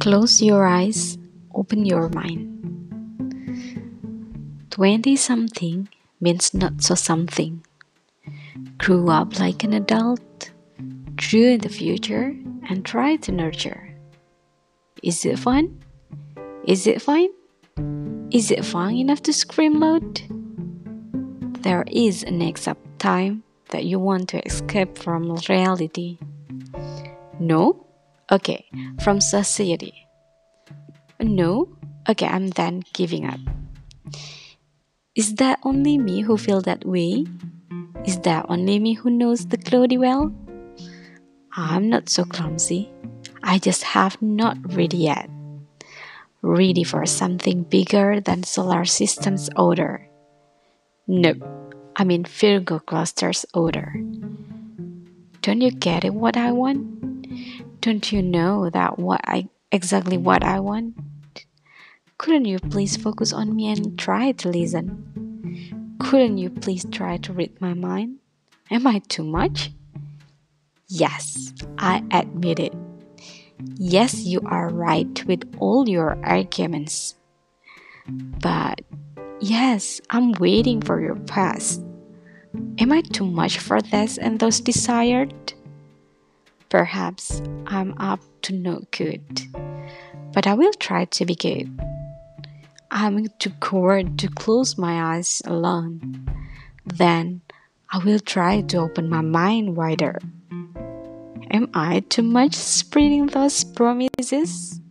Close your eyes, open your mind. 20-something means not so something. Grew up like an adult, drew in the future, and try to nurture. Is it fun? Is it fine? Is it fun enough to scream loud? There is an exact time that you want to escape from reality. No? Okay, from society. No? Okay, I'm done giving up. Is that only me who feel that way? Is that only me who knows the Cloudy well? I'm not so clumsy. I just have not ready yet. Ready for something bigger than solar system's odor. Nope, I mean Virgo cluster's odor. Don't you get it what I want? Don't you know that exactly what I want? Couldn't you please focus on me and try to listen? Couldn't you please try to read my mind? Am I too much? Yes, I admit it. Yes, you are right with all your arguments. But yes, I'm waiting for your pass. Am I too much for this and those desired? Perhaps I'm up to no good, but I will try to be good. I'm too coward to close my eyes alone. Then I will try to open my mind wider. Am I too much spreading those promises?